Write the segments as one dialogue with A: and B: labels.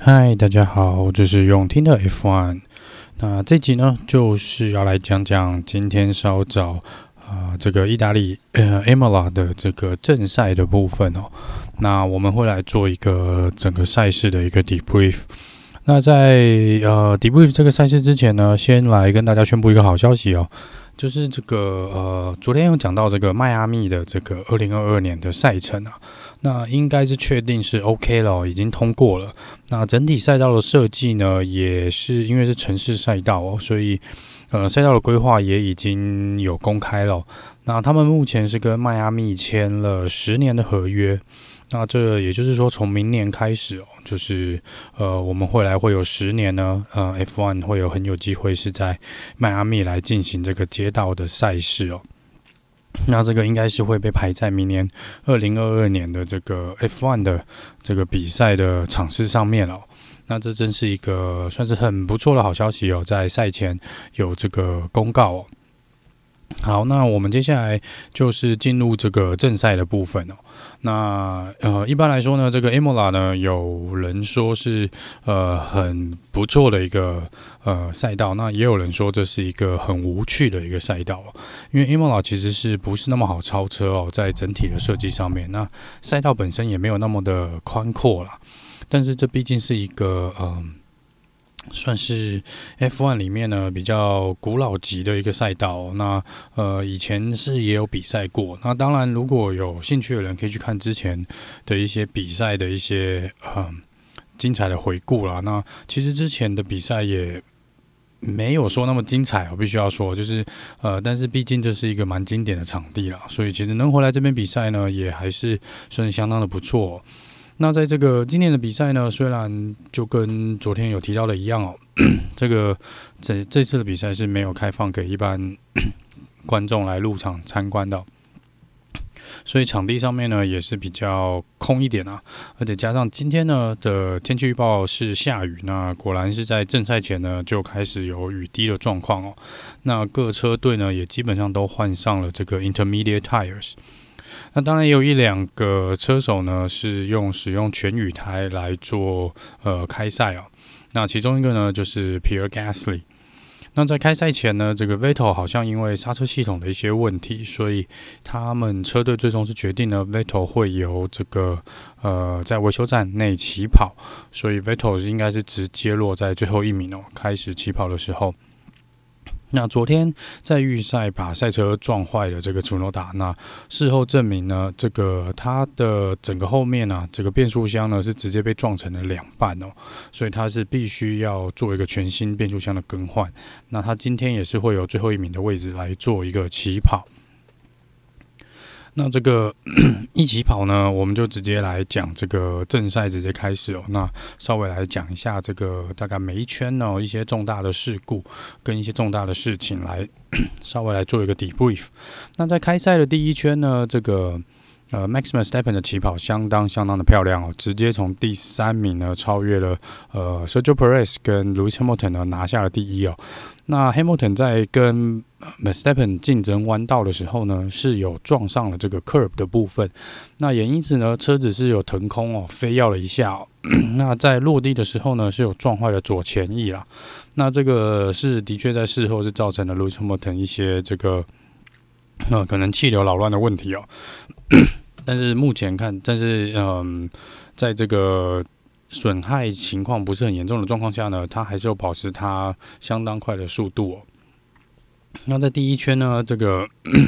A: 嗨，大家好，這是永聽的 F1。那這集呢，就是要來講講今天稍早這個意大利Imola 的這個正賽的部分哦。那我們會來做一個整個賽事的一個 debrief。那在debrief 這個賽事之前呢，先來跟大家宣布一個好消息哦。就是這個昨天有講到這個邁阿密的這個2022年的賽程啊，那應該是確定是 OK 了哦，已經通過了。那整體賽道的設計呢，也是因為是城市賽道哦，所以賽道的規劃也已經有公開了哦。那他們目前是跟邁阿密簽了10年的合約。那這也就是說，從明年開始哦，就是我們會有10年呢，F1 會有很有機會是在邁阿密來進行這個街道的賽事哦。那這個應該是會被排在明年2022年的這個 F1 的這個比賽的場次上面哦。那這真是一個算是很不錯的好消息哦，在賽前有這個公告哦。好，那我們接下來就是進入這個正賽的部分哦。那一般來說呢，這個 Imola 呢，有人說是很不錯的一個賽道，那也有人說這是一個很無趣的一個賽道哦。因為 Imola 其實是不是那麼好超車哦，在整體的設計上面，那賽道本身也沒有那麼的寬闊啦。但是這畢竟是一個算是 F1 裡面呢比較古老級的一個賽道哦。那以前是也有比賽過。那當然，如果有興趣的人可以去看之前的一些比賽的一些精彩的回顧啦。那其實之前的比賽也沒有說那麼精彩，我必須要說，就是但是畢竟這是一個蠻經典的場地啦，所以其實能回來這邊比賽呢，也還是算是相當的不錯哦。那在這個今年的比賽呢，雖然就跟昨天有提到的一樣哦，這次的比賽是沒有開放給一般觀眾來入場參觀的，所以場地上面呢也是比較空一點啊，而且加上今天呢的天氣預報是下雨，那果然是在正賽前呢就開始有雨滴的狀況哦。那各車隊呢也基本上都換上了這個 intermediate tires。那當然也有1-2個車手呢是使用全雨胎來做開賽哦。那其中一個呢就是 Pierre Gasly。那在開賽前呢，這個 Vettel 好像因為剎車系統的一些問題，所以他們車隊最終是決定呢 Vettel 會由這個在維修站內起跑，所以 Vettel 應該是直接落在最後1名哦。開始起跑的時候。那昨天在預賽把賽車撞壞的這個楚諾達，那事後證明呢，這個他的整個後面啊，這個變速箱呢是直接被撞成了2半哦，所以他是必須要做一個全新變速箱的更換。那他今天也是會有最後1名的位置來做一個起跑。那這個一起跑呢，我們就直接來講這個正賽直接開始哦。那稍微來講一下這個大概每一圈呢一些重大的事故跟一些重大的事情來稍微來做一個 debrief。那在開賽的第1圈呢，這個Max Verstappen 的起跑相當的漂亮哦，直接從第3名呢超越了Sergio Perez 跟 Lewis Hamilton 呢拿下了第1哦。那 Hamilton 在跟Verstappen 競爭彎道的時候呢，是有撞上了這個 curb 的部分，那也因此呢車子是有騰空哦，飛躍了一下哦。那在落地的時候呢，是有撞壞了左前翼啦。那這個是的確在事後是造成了 Lewis Hamilton 一些這個可能氣流擾亂的問題哦。但是目前看，在這個損害情況不是很嚴重的狀況下呢，他還是有保持他相當快的速度哦。那在第1圈呢，這個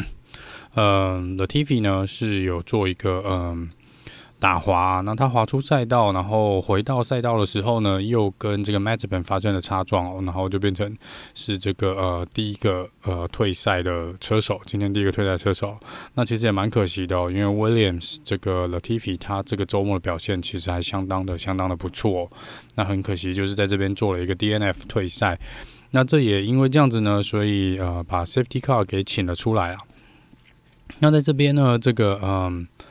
A: Latifi 呢是有做一個打滑，那他滑出賽道，然後回到賽道的時候呢，又跟這個 Mazepin 發生了擦撞哦，然後就變成是這個第一個退賽的車手，今天第一個退賽車手。那其實也蠻可惜的哦，因為 Williams 這個 Latifi 他這個週末的表現其實還相當的不錯哦。那很可惜就是在這邊做了一個 DNF 退賽。那這也因為這樣子呢，所以把 Safety Car 給請了出來啊。那在這邊呢，這個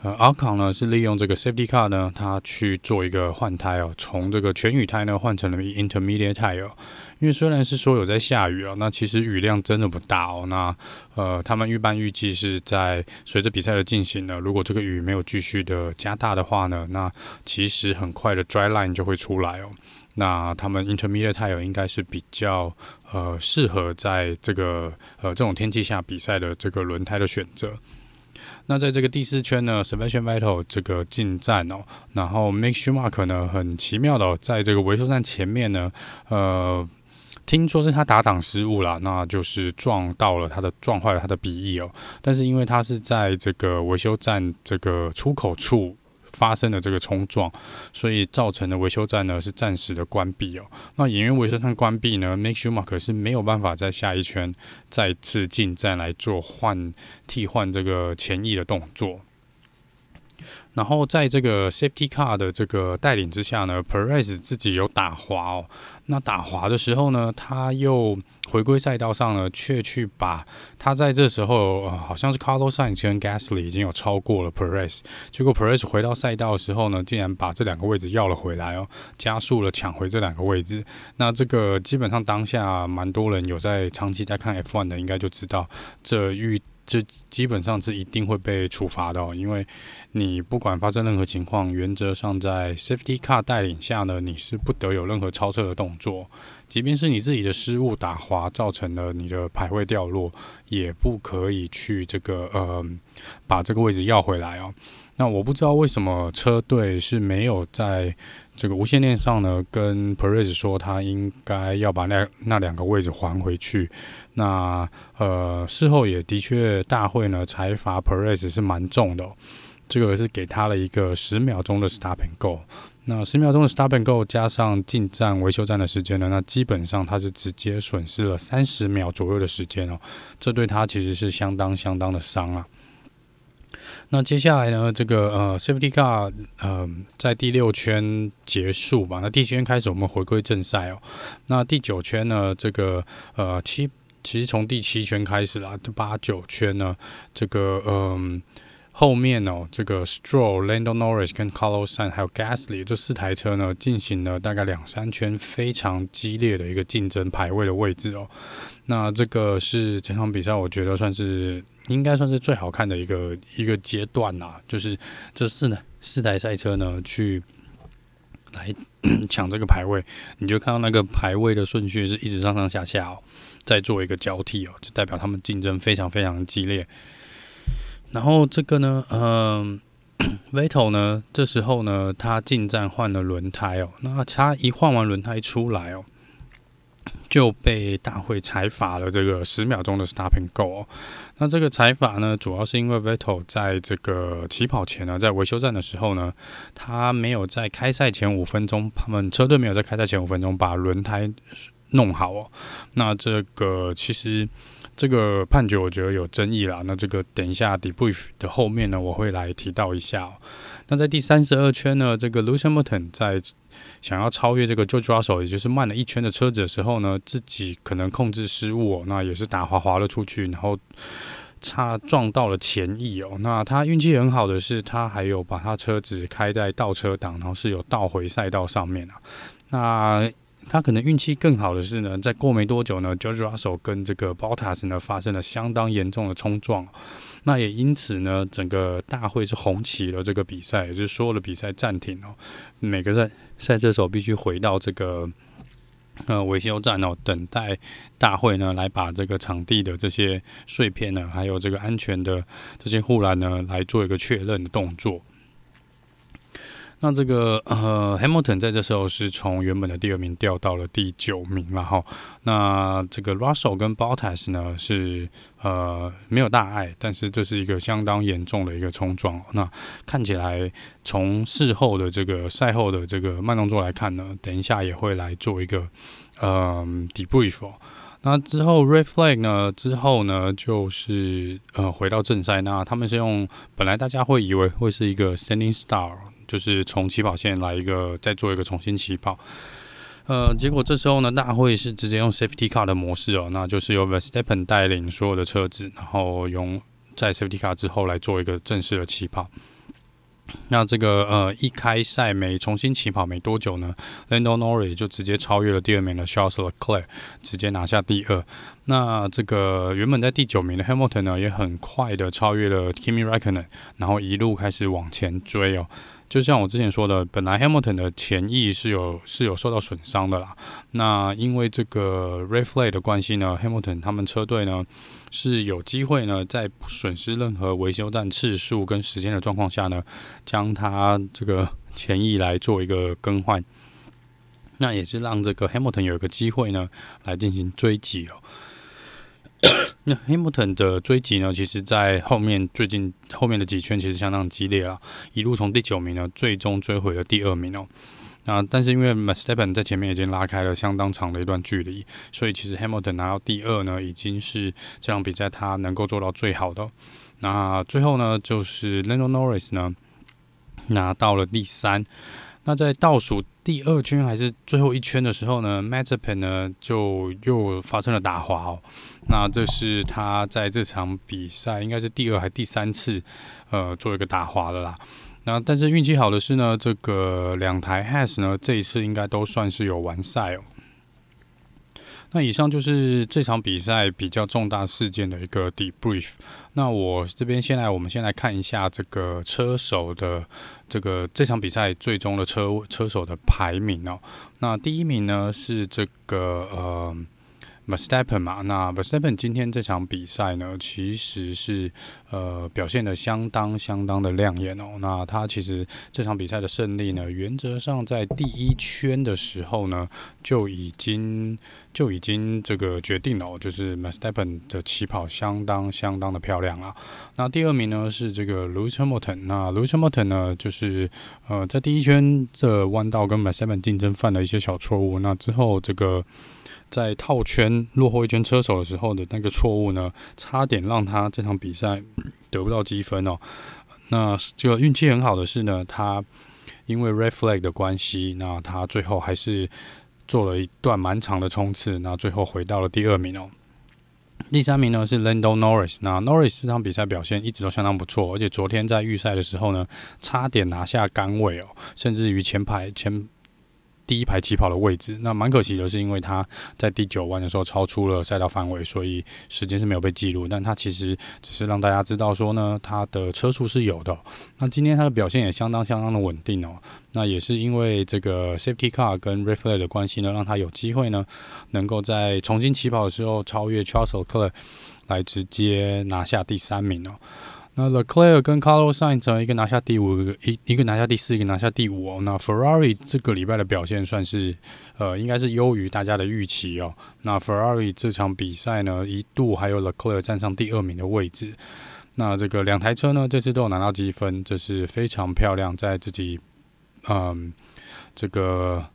A: Ocon 呢是利用這個 Safety Car 呢，它去做一個換胎哦，從這個全雨胎呢換成了 Intermediate Tire。因為雖然是說有在下雨哦，那其實雨量真的不大哦。那他們預計是在隨着比賽的進行呢，如果這個雨沒有繼續的加大的話呢，那其實很快的 Dry Line 就會出來哦。那他們 Intermediate Tire 應該是比較適合在這個這種天氣下比賽的這個輪胎的選擇。那在這個第4圈呢 ，Sebastian Vettel 這個進站哦，然後 Mick Schumacher 呢很奇妙的在這個維修站前面呢，聽說是他打檔失誤啦，那就是撞壞了他的鼻翼哦。但是因為他是在這個維修站這個出口處發生的這個衝撞，所以造成的維修站呢是暫時的關閉哦。那也因為維修站關閉呢 ，Mick Schumacher 是沒有辦法在下一圈再次進站來做替換這個前翼的動作。然後在這個 Safety Car 的這個帶領之下呢 ，Perez 自己有打滑哦。那打滑的時候呢，他又回歸賽道上呢，卻去把他在這時候好像是 Carlos Sainz 跟 Gasly 已經有超過了 Perez， 結果 Perez 回到賽道的時候呢，竟然把這兩個位置要了回來哦，加速了搶回這兩個位置。那這個基本上當下蠻多人有在長期在看 F1 的，應該就知道這基本上是一定會被處罰的哦，因為你不管發生任何情況，原則上在 Safety Car 帶領下呢，你是不得有任何超車的動作，即便是你自己的失誤打滑造成了你的排位掉落，也不可以去這個把這個位置要回來哦。那我不知道為什麼車隊是沒有在這個無線電上呢跟 Perez 說他應該要把那兩個位置還回去。那事後也的確大會呢裁罰 Perez 是蠻重的哦，這個是給他了一個10秒鐘的 Stop and Go。那10秒鐘的 Stop and Go 加上進站維修站的時間呢，那基本上他是直接損失了30秒左右的時間哦，這對他其實是相當的傷啊。那接下來呢，這個Safety Car 在第6圈結束吧。那第7圈開始，我們回歸正賽哦。那第9圈呢，這個其實從第7圈開始啦，8、9圈呢，這個後面哦，這個 Stroll、Lando Norris 跟 Carlos Sainz 還有 Gasly 這4台車呢，進行了大概2-3圈非常激烈的一個競爭排位的位置哦。那這個是整場比賽我覺得應該算是最好看的一個階段啦，就是這四台賽車呢來搶這個排位，你就看到那個排位的順序是一直上下哦，再做一個交替哦，就代表他們競爭非常激烈。然後這個呢，Vettel 呢，這時候呢，他進站換了輪胎哦，那他一換完輪胎出來哦，就被大會裁罰了這個10秒鐘的 Stop and Go 哦。那這個裁罰呢，主要是因為 Vettel 在這個起跑前呢，在維修站的時候呢，他沒有在開賽前5分鐘，他們車隊沒有在開賽前5分鐘把輪胎弄好哦。那這個其實這個判決我覺得有爭議啦。那這個等一下 debrief 的後面呢，我會來提到一下哦。那在第32圈呢，這個 Lewis Hamilton 在想要超越這個 George Russell， 也就是慢了1圈的車子的時候呢，自己可能控制失誤哦，那也是打滑了出去，然後撞到了前翼哦。那他運氣很好的是，他還有把他車子開在倒車檔，然後是有倒回賽道上面啊。那他可能運氣更好的是呢，在過沒多久呢 ，George Russell 跟這個 Bottas 呢發生了相當嚴重的衝撞，那也因此呢，整個大會是紅旗了這個比賽，也就是所有的比賽暫停哦，每個賽車手必須回到這個維修站哦，等待大會呢來把這個場地的這些碎片呢，還有這個安全的這些護欄呢，來做一個確認的動作。那這個Hamilton 在這時候是從原本的第2名掉到了第9名了哈。那這個 Russell 跟 Bottas 呢是沒有大礙，但是這是一個相當嚴重的一個衝撞。那看起來從事後的這個賽後的這個慢動作來看呢，等一下也會來做一個debrief 哦。那之後 Red Flag 呢？之後呢，就是回到正賽。那他們是用本來大家會以為會是一個 Standing Start， 就是從起跑線來再做一個重新起跑。結果這時候呢，大會是直接用 Safety Car 的模式哦，那就是由 Verstappen 帶領所有的車子，然後用在 Safety Car 之後來做一個正式的起跑。 那這個一開賽重新起跑沒多久呢 ，Lando Norris 就直接超越了第2名的 Charles Leclerc， 直接拿下第2。那這個原本在第9名的 Hamilton 呢，也很快的超越了 Kimi Räikkönen， 然後一路開始往前追哦。就像我之前說的，本來 Hamilton 的前翼是有受到損傷的啦。那因為這個 Red Flag 的關係呢 ，Hamilton 他們車隊呢是有機會呢，在不損失任何維修站次數跟時間的狀況下呢，將他這個前翼來做一個更換。那也是讓這個 Hamilton 有一個機會呢，來進行追擊哦。那 Hamilton 的追擊呢，其實在最近後面的幾圈其實相當激烈啦，一路從第9名呢，最終追回了第2名哦。那但是因為 Verstappen 在前面已經拉開了相當長的一段距離，所以其實 Hamilton 拿到第2呢，已經是這場比賽他能夠做到最好的哦。那最後呢，就是 Lando Norris 呢拿到了第3。那在倒數第2圈還是最後1圈的時候呢 ，Mazepin 呢就又發生了打滑哦。那這是他在這場比賽應該是第2還第3次做一個打滑了啦。那但是運氣好的是呢，這個2台 Haas 呢這一次應該都算是有完賽哦。那以上就是這場比賽比較重大事件的一個 debrief。那我這邊我們先來看一下這個車手的這場比賽最終的車手的排名哦。那第1名呢是這個Verstappen 嘛，那 Verstappen 今天這場比賽呢，其實是表現得相當的亮眼哦。那他其實這場比賽的勝利呢，原則上在第1圈的時候呢，就已經這個決定了哦，就是 Verstappen 的起跑相當的漂亮啊。那第2名呢是這個 Lewis Hamilton， 那 Lewis Hamilton 呢就是在第1圈這彎道跟 Verstappen 競爭犯了一些小錯誤，那之後這個在套圈落後1圈車手的時候的那個錯誤呢，差點讓他這場比賽得不到積分哦。那這個運氣很好的是呢，他因為 Red Flag 的關係，那他最後還是做了一段蠻長的衝刺，那最後回到了第2名哦。第3名呢是 Lando Norris， 那 Norris 這場比賽表現一直都相當不錯，而且昨天在預賽的時候呢，差點拿下桿位哦，甚至於第1排起跑的位置。那蠻可惜的是，因為他在第9彎的時候超出了賽道範圍，所以時間是沒有被記錄。但他其實只是讓大家知道說呢，他的車速是有的哦。那今天他的表現也相當的穩定哦。那也是因為這個 Safety Car 跟 Red Flag 的關係呢，讓他有機會呢，能夠在重新起跑的時候超越 Charles Leclerc， 來直接拿下第3名哦。那 Leclerc 跟 Carlos Sainz 一個拿下第5，一個拿下第4，一個拿下第5哦。那 Ferrari 這個禮拜的表現算是應該是優於大家的預期哦。那 Ferrari 這場比賽呢，一度還有 Leclerc 站上第2名的位置。那這個2台車呢，這次都有拿到積分，這是非常漂亮，在自己這個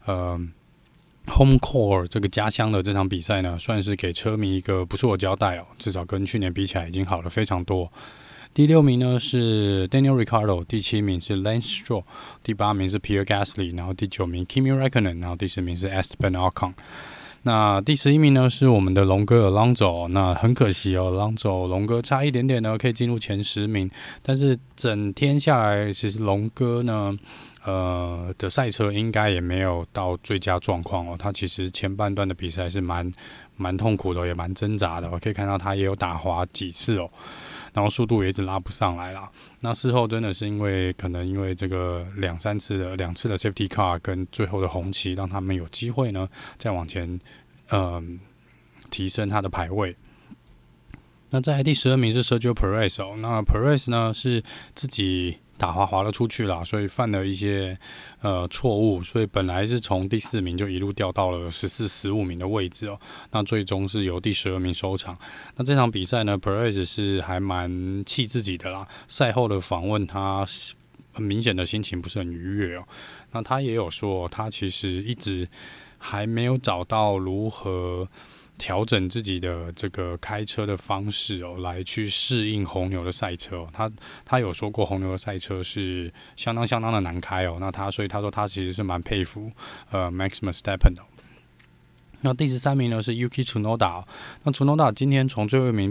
A: Home Core 這個家鄉的這場比賽呢，算是給車迷一個不錯的交代哦。至少跟去年比起來，已經好了非常多。第6名呢是 Daniel Ricciardo， 第7名是 Lance Stroll， 第8名是 Pierre Gasly， 然後第9名 Kimi Räikkönen， 然後第10名是 Esteban Ocon。那第11名呢是我們的龍哥 Alonso， 那很可惜哦，Alonso 龍哥差一點點呢可以進入前10名，但是整天下來，其實龍哥呢的賽車應該也沒有到最佳狀況哦。他其實前半段的比賽是蠻痛苦的，也蠻掙扎的。我可以看到他也有打滑幾次哦，然後速度也一直拉不上來啦。那事後真的是因為這個2次的 Safety Car 跟最後的紅旗，讓他們有機會呢再往前提升他的排位。那在第12名是 Sergio Perez 哦，那 Perez 呢是自己打滑了出去啦，所以犯了一些錯誤，所以本來是從第4名就一路掉到了14、15名的位置哦。那最終是由第12名收場。那這場比賽呢 ，Perez 是還蠻氣自己的啦。賽後的訪問，他很明顯的心情不是很愉悅哦。那他也有說，他其實一直還沒有找到如何調整自己的這個開車的方式哦，來去適應紅牛的賽車哦。他有說過紅牛的賽車是相當的難開哦。所以他說他其實是蠻佩服Max Verstappen 的。那第13名呢是 Yuki Tsunoda。那 Tsunoda 今天從最後一名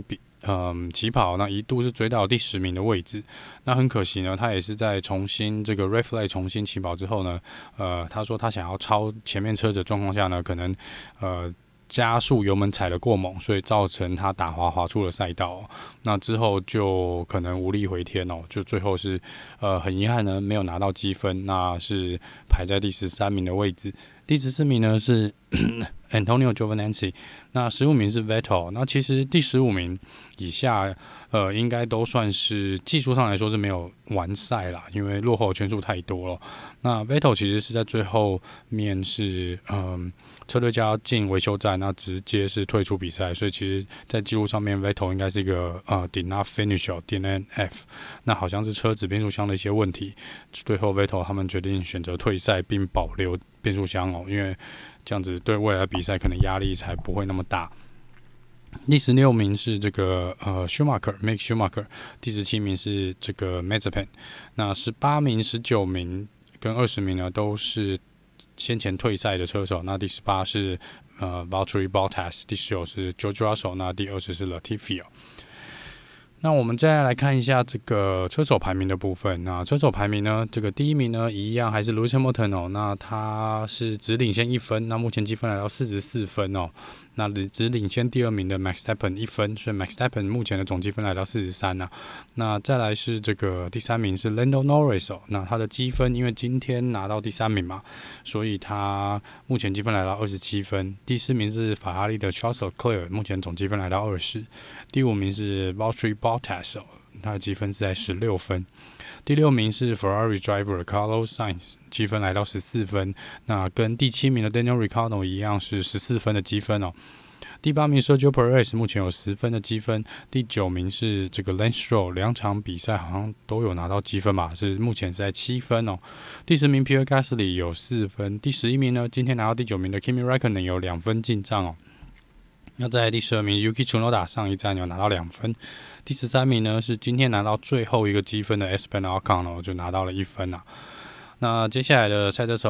A: 起跑，那一度是追到第10名的位置。那很可惜呢，他也是在重新這個 Red Flag 重新起跑之後呢，他說他想要超前面車子的狀況下呢，可能加速油門踩得過猛，所以造成他打滑出了賽道。那之後就可能無力回天哦，就最後是很遺憾呢，沒有拿到積分，那是排在第13名的位置。第14名呢是Antonio Giovinazzi， 那15名是 Vettel。那其實第15名以下，應該都算是技術上來說是沒有完賽啦，因為落後圈數太多了。那 Vettel 其實是在最後面是車隊家進維修站，那直接是退出比賽，所以其實在記錄上面 Vettel 應該是一個did not finish DNF， 那好像是車子變速箱的一些問題，最後 Vettel 他們決定選擇退賽並保留變速箱因為這樣子對未來的比賽可能壓力才不會那麼大。第16名是這個Mick Schumacher， 第17名是這個 Mazepin， 那18名、19名跟20名呢都是先前退賽的車手。那第18是Valtteri Bottas， 第19是 George Russell， 那第20是 Latifi。那我們再來看一下這個車手排名的部分。那車手排名呢，這個第1名呢一樣還是 Lewis Hamilton 那他是只領先1分，那目前積分來到44分那只領先第2名的 Max Verstappen 1分，所以 Max Verstappen 目前的總積分來到43那再來是這個第3名是 Lando Norris 那他的積分因為今天拿到第3名嘛，所以他目前積分來到27分。第4名是法拉利的 Charles Leclerc， 目前總積分來到20。第5名是 Valtteri Bottas， 他的積分是在16分。第6名是 Ferrari driver Carlos Sainz， 積分來到14分，那跟第7名的 Daniel Ricciardo 一樣是14分的積分第8名 Sergio Perez 目前有10分的積分。第9名是這個 Lance Stroll， 2場比賽好像都有拿到積分吧，是目前是在7分第10名 Pierre Gasly 有4分。第11名呢，今天拿到第9名的 Kimi Räikkönen 有2分進賬那在第12名 Yuki Tsunoda 上一站有拿到2分。第13名呢是今天拿到最後一個積分的 Esteban Ocon 就拿到了1分那接下來的賽車手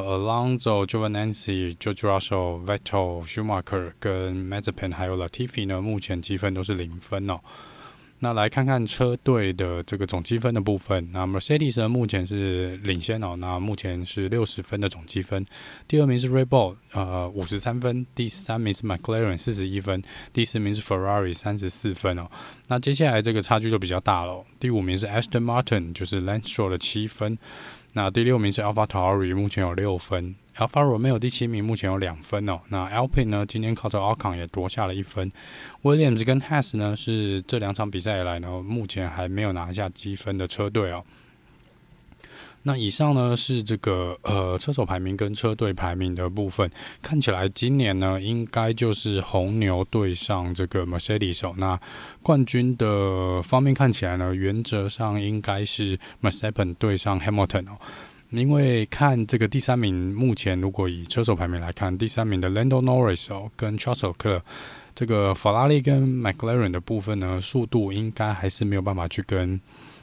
A: Alonso、Giovinazzi、George Russell、Vettel、Schumacher 跟 Mazepin 還有 Latifi 呢，目前積分都是0分那來看看車隊的這個總積分的部分。那 Mercedes 呢目前是領先那目前是60分的總積分。第2名是 Red Bull53分，第3名是 McLaren 41分，第4名是 Ferrari 34分那接下來這個差距就比較大了第5名是 Aston Martin， 就是 Lance Stroll 的7分。那第6名是 AlphaTauri， 目前有6分。Alfa Romeo 第7名目前有2分那 Alpine 呢今天靠着 Ocon 也奪下了1分。Williams 跟 Haas 呢是這2場比賽以來呢目前還沒有拿下積分的車隊那以上呢是這個車手排名跟車隊排名的部分。看起來今年呢應該就是紅牛對上這個 Mercedes 那冠軍的方面看起來呢，原則上應該是 Verstappen 對上 Hamilton因為看這個第3名，目前如果以車手排名來看，第3名的 Lando Norris 跟 Charles Leclerc， 這個法拉利跟 McLaren 的部分呢，速度應該還是沒有辦法去跟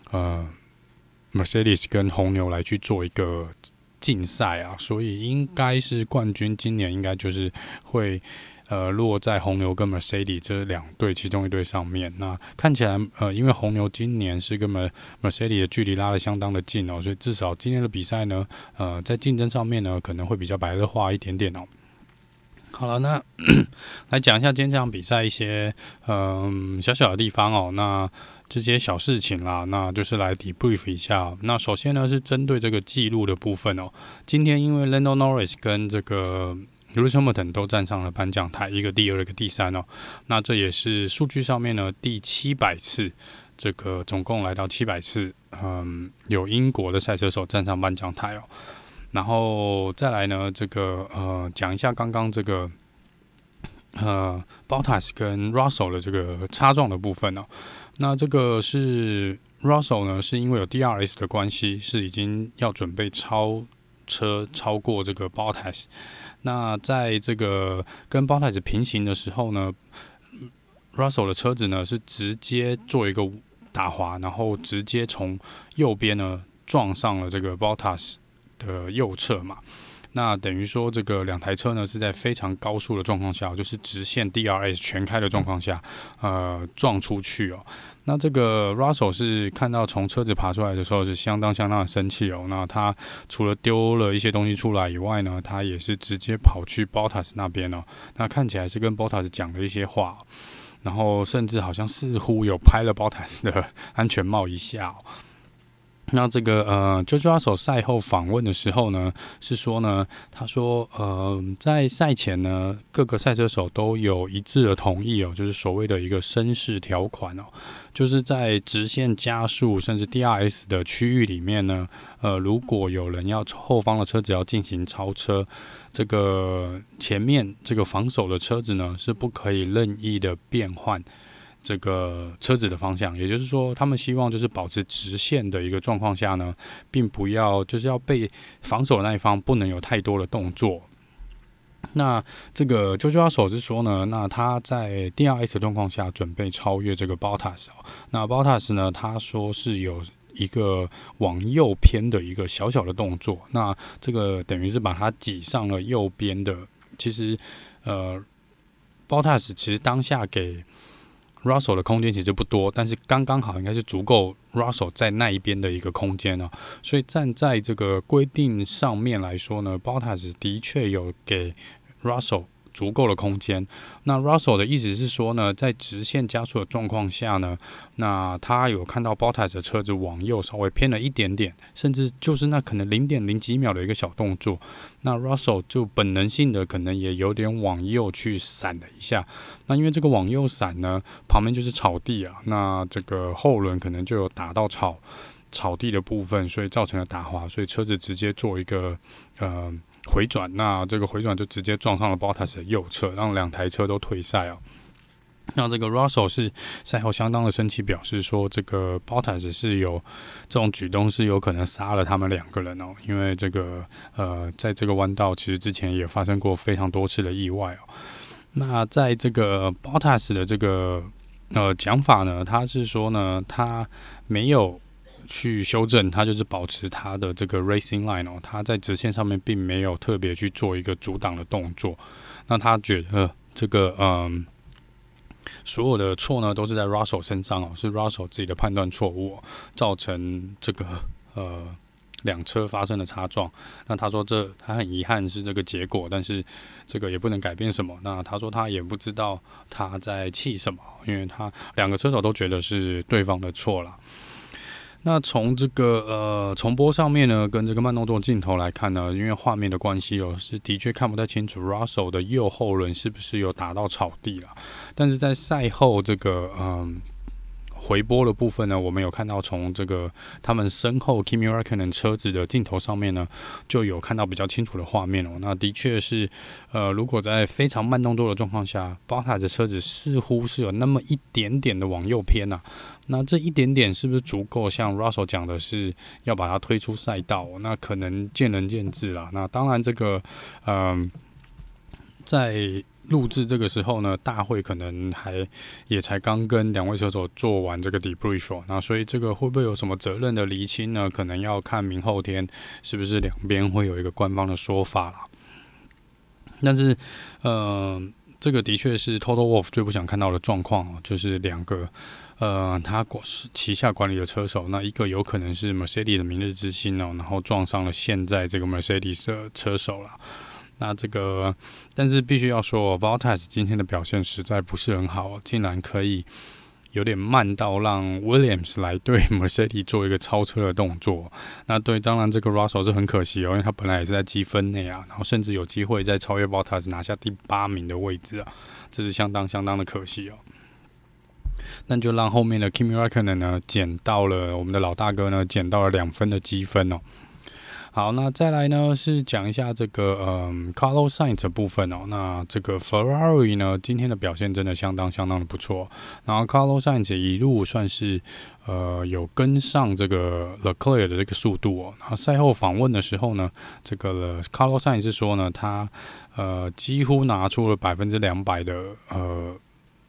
A: Mercedes 跟紅牛來去做一個競賽所以應該是冠軍今年應該就是會落在紅牛跟 Mercedes 這2隊其中一隊上面。那看起來因為紅牛今年是跟 Mercedes 的距離拉得相当的近所以至少今年的比賽呢在競爭上面呢可能會比較白熱化一點點好了，那來講一下今天這場比賽一些小小的地方那這些小事情啦，那就是來 debrief 一下那首先呢是針對這個記錄的部分今天因為 Lando Norris 跟這個Lewis Hamilton 都站上了頒獎台，一個第2，一個第3那這也是數據上面呢第700次，這個總共來到700次，有英國的賽車手站上頒獎台然後再來呢，這個講一下剛剛這個Bottas 跟 Russell 的這個擦撞的部分那這個是 Russell 呢，是因為有 DRS 的關係，是已經要準備超過這個 Bottas。那在這個跟 Bottas 平行的時候呢 ，Russell 的車子呢是直接做一個打滑，然後直接從右邊呢撞上了這個 Bottas 的右側嘛。 那等於說這個兩台車呢是在非常高速的狀況下，就是直線 DRS 全開的狀況下，撞出去哦。那這個 Russell 是看到從車子爬出來的時候是相當的生氣哦。那他除了丟了一些東西出來以外呢，他也是直接跑去 Bottas 那邊哦。那看起來是跟 Bottas 講了一些話，然後甚至好像似乎有拍了 Bottas 的安全帽一下哦。那這個George Russell 賽後訪問的時候呢，是說呢，他說在賽前呢，各個賽車手都有一致的同意哦，就是所謂的一個紳士條款哦，就是在直線加速甚至 DRS 的區域裡面呢，如果有人要後方的車子要進行超車，這個前面這個防守的車子呢是不可以任意的變換這個車子的方向，也就是說，他們希望就是保持直線的一個狀況下呢，並不要就是要被防守的那一方不能有太多的動作。那這個 George Russell 是說呢，那他在 DRS 的狀況下準備超越這個 Bottas 哦。那 Bottas 呢，他說是有一個往右偏的一個小小的動作，那這個等於是把他擠上了右邊的。其實Bottas 其實當下給Russell 的空間其實不多，但是剛剛好應該是足夠 Russell 在那一邊的一個空間哦。所以站在這個規定上面來說呢， Bottas 的確有給 Russell 足夠的空間。那 Russell 的意思是說呢，在直線加速的狀況下呢，那他有看到 Bottas 的車子往右稍微偏了一點點，甚至就是那可能0.0幾秒的一個小動作，那 Russell 就本能性的可能也有點往右去閃了一下。那因為這個往右閃呢，旁邊就是草地啊，那這個後輪可能就有打到草地的部分，所以造成了打滑，所以車子直接做一個回轉，那這個回轉就直接撞上了 Bottas 的右側，讓兩台車都退賽哦。那這個 Russell 是賽後相當的生氣，表示說這個 Bottas 是有這種舉動是有可能殺了他們兩個人哦，因為這個在這個彎道其實之前也發生過非常多次的意外哦。那在這個 Bottas 的這個講法呢，他是說呢，他沒有去修正，他就是保持他的這個 racing line 哦，他在直線上面並沒有特別去做一個阻擋的動作。那他覺得這個所有的錯呢都是在 Russell 身上哦，是 Russell 自己的判斷錯誤哦，造成這個兩車發生了擦撞。那他說他很遺憾是這個結果，但是這個也不能改變什麼。那他說他也不知道他在氣什麼，因為他兩個車手都覺得是對方的錯啦。那從這個重播上面呢，跟這個慢動作鏡頭來看呢，因為畫面的關係哦，是的確看不太清楚 Russell 的右後輪是不是有打到草地啦。但是在賽後這個回播的部分呢，我們有看到從這個他們身後 Kimi Räikkönen 車子的鏡頭上面呢，就有看到比較清楚的畫面哦。那的確是，如果在非常慢動作的狀況下 ，Bottas 的車子似乎是有那麼一點點的往右偏啊。那這一點點是不是足夠？像 Russell 講的是要把它推出賽道，那可能見仁見智啦。那當然，這個在錄製這個時候呢，大會可能也才剛跟兩位車手做完這個 debrief 哦，那所以這個會不會有什麼責任的釐清呢？可能要看明後天是不是兩邊會有一個官方的說法啦。但是這個的確是 Toto Wolff 最不想看到的狀況哦，就是兩個他旗下管理的車手，那一個有可能是 Mercedes 的明日之星哦，然後撞上了現在這個 Mercedes 的車手啦。那這個，但是必須要說 Bottas 今天的表現實在不是很好，竟然可以有點慢到讓 Williams 來對 Mercedes 做一個超車的動作。那對，當然這個 Russell 是很可惜哦，因為他本來也是在積分內啊，然後甚至有機會再超越 Bottas 拿下第8名的位置啊，這是相當的可惜哦。那就讓後面的 Kimi Räikkönen 呢撿到了，我們的老大哥呢撿到了2分的積分哦。好，那再來呢是講一下這個Carlos Sainz 的部分哦。那這個 Ferrari 呢今天的表現真的相當的不錯。然後 Carlos Sainz 一路算是有跟上這個 Leclerc 的這個速度哦。然後賽後訪問的時候呢，這個 Carlos Sainz 是說呢，他幾乎拿出了200%的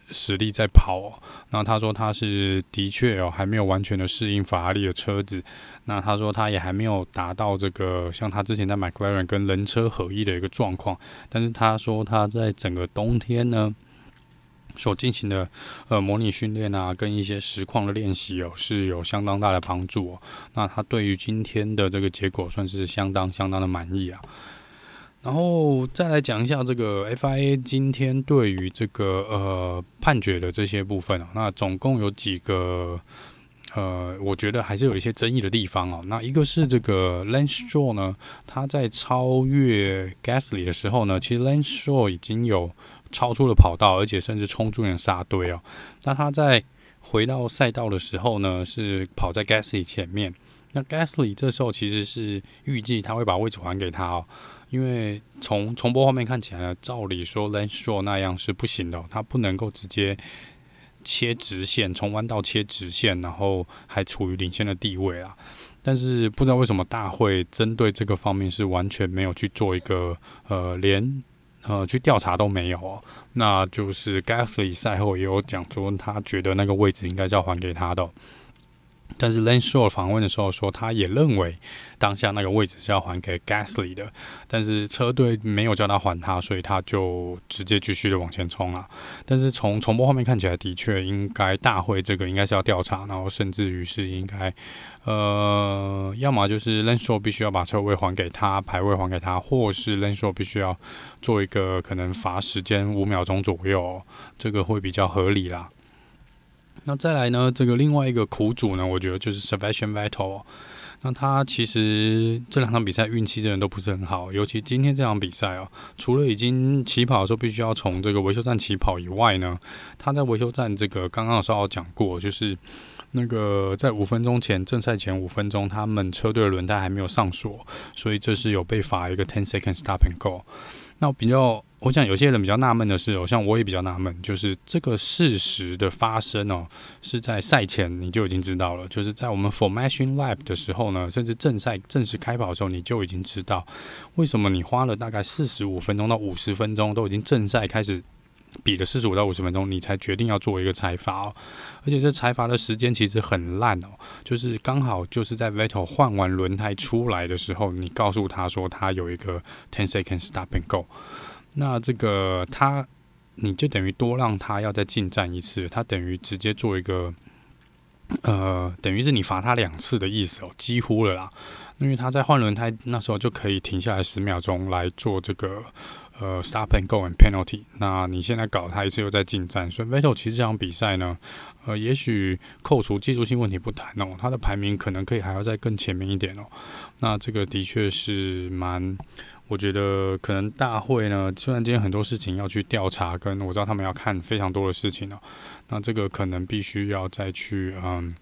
A: 實力在跑哦。那他說他是的確哦，還沒有完全的適應法拉利的車子。那他說他也還沒有達到這個像他之前在 McLaren 跟人車合一的一個狀況。但是他說他在整個冬天呢所進行的模擬訓練啊，跟一些實況的練習哦，是有相當大的幫助哦。那他對於今天的這個結果算是相當的滿意啊。然後再來講一下這個 FIA 今天對於這個判決的這些部分哦，那總共有幾個我覺得還是有一些爭議的地方哦。那一個是這個 Lance Stroll 呢，他在超越 Gasly 的時候呢，其實 Lance Stroll 已經有超出了跑道，而且甚至衝出了剎隊哦。那他在回到賽道的時候呢，是跑在 Gasly 前面。那 Gasly 這時候其實是預計他會把位置還給他哦，因為從重播畫面看起來呢，照理說 Lance Stroll 那樣是不行的哦，他不能夠直接切直線，從彎道切直線，然後還處於領先的地位啊。但是不知道為什麼大會針對這個方面是完全沒有去做一個連去調查都沒有哦。那就是 Gasly 賽後也有講說，他覺得那個位置應該是要還給他的哦。但是 Lance Stroll 訪問的時候說，他也認為當下那個位置是要還給 Gasly 的，但是車隊沒有叫他還他，所以他就直接繼續的往前衝了。但是從重播畫面看起來，的確應該大會這個應該是要調查，然後甚至於是應該要麼就是 Lance Stroll 必須要把車位還給他，排位還給他，或是 Lance Stroll 必須要做一個可能罰時間5秒鐘左右哦，這個會比較合理啦。那再來呢，這個另外一個苦主呢，我覺得就是 Sebastian Vettel 哦。那他其實這兩場比賽運氣真的都不是很好，尤其今天這場比賽哦，除了已經起跑的時候必須要從這個維修站起跑以外呢，他在維修站這個剛剛有稍微講過，就是那個在5分鐘前，正賽前5分鐘，他們車隊的輪胎還沒有上鎖，所以這是有被罰一個10 second stop and go。那我想有些人比較納悶的是哦，像我也比較納悶，就是這個事實的發生哦，是在賽前你就已經知道了，就是在我們 Formation Lap 的時候呢，甚至正賽正式開跑的時候，你就已經知道為什麼你花了大概45分鐘到50分鐘，都已經正賽開始比了45到50分鐘，你才決定要做一個裁罰哦。而且這裁罰的時間其實很爛哦，就是剛好就是在 Vettel 換完輪胎出來的時候，你告訴他說他有一個10 second stop and go。那這個你就等於多讓他要再進站一次，他等於直接做一個等於是你罰他2次的意思哦，幾乎了啦。因為他在換輪胎那時候就可以停下來10秒鐘來做這個stop and go and penalty。那你現在搞他一次又在進站，所以 Vettel 其實這場比賽呢，也許扣除技術性問題不談哦，他的排名可能可以還要再更前面一點哦。那這個的確是我覺得可能大會呢，雖然今天很多事情要去調查，跟我知道他們要看非常多的事情哦，那這個可能必須要再去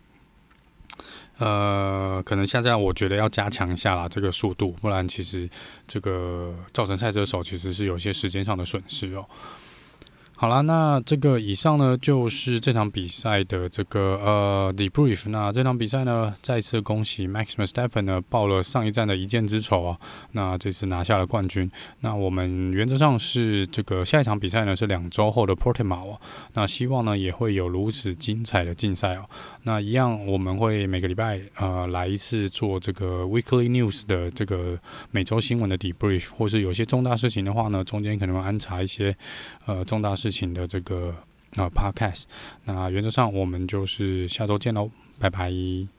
A: 可能現在我覺得要加強一下啦，這個速度，不然其實這個造成賽車手其實是有一些時間上的損失哦。好啦，那這個以上呢就是這場比賽的這個debrief。那這場比賽呢，再次恭喜 Max Verstappen 呢報了上一站的一箭之仇啊，那這次拿下了冠軍。那我們原則上是這個下一場比賽呢是2週後的 Portimao 哦，那希望呢也會有如此精彩的競賽哦。那一樣我們會每個禮拜來一次做這個 Weekly News 的這個每週新聞的 debrief， 或是有些重大事情的話呢，中間可能會安插一些重大事情的這個podcast。那原則上我們就是下週見嘍，拜拜。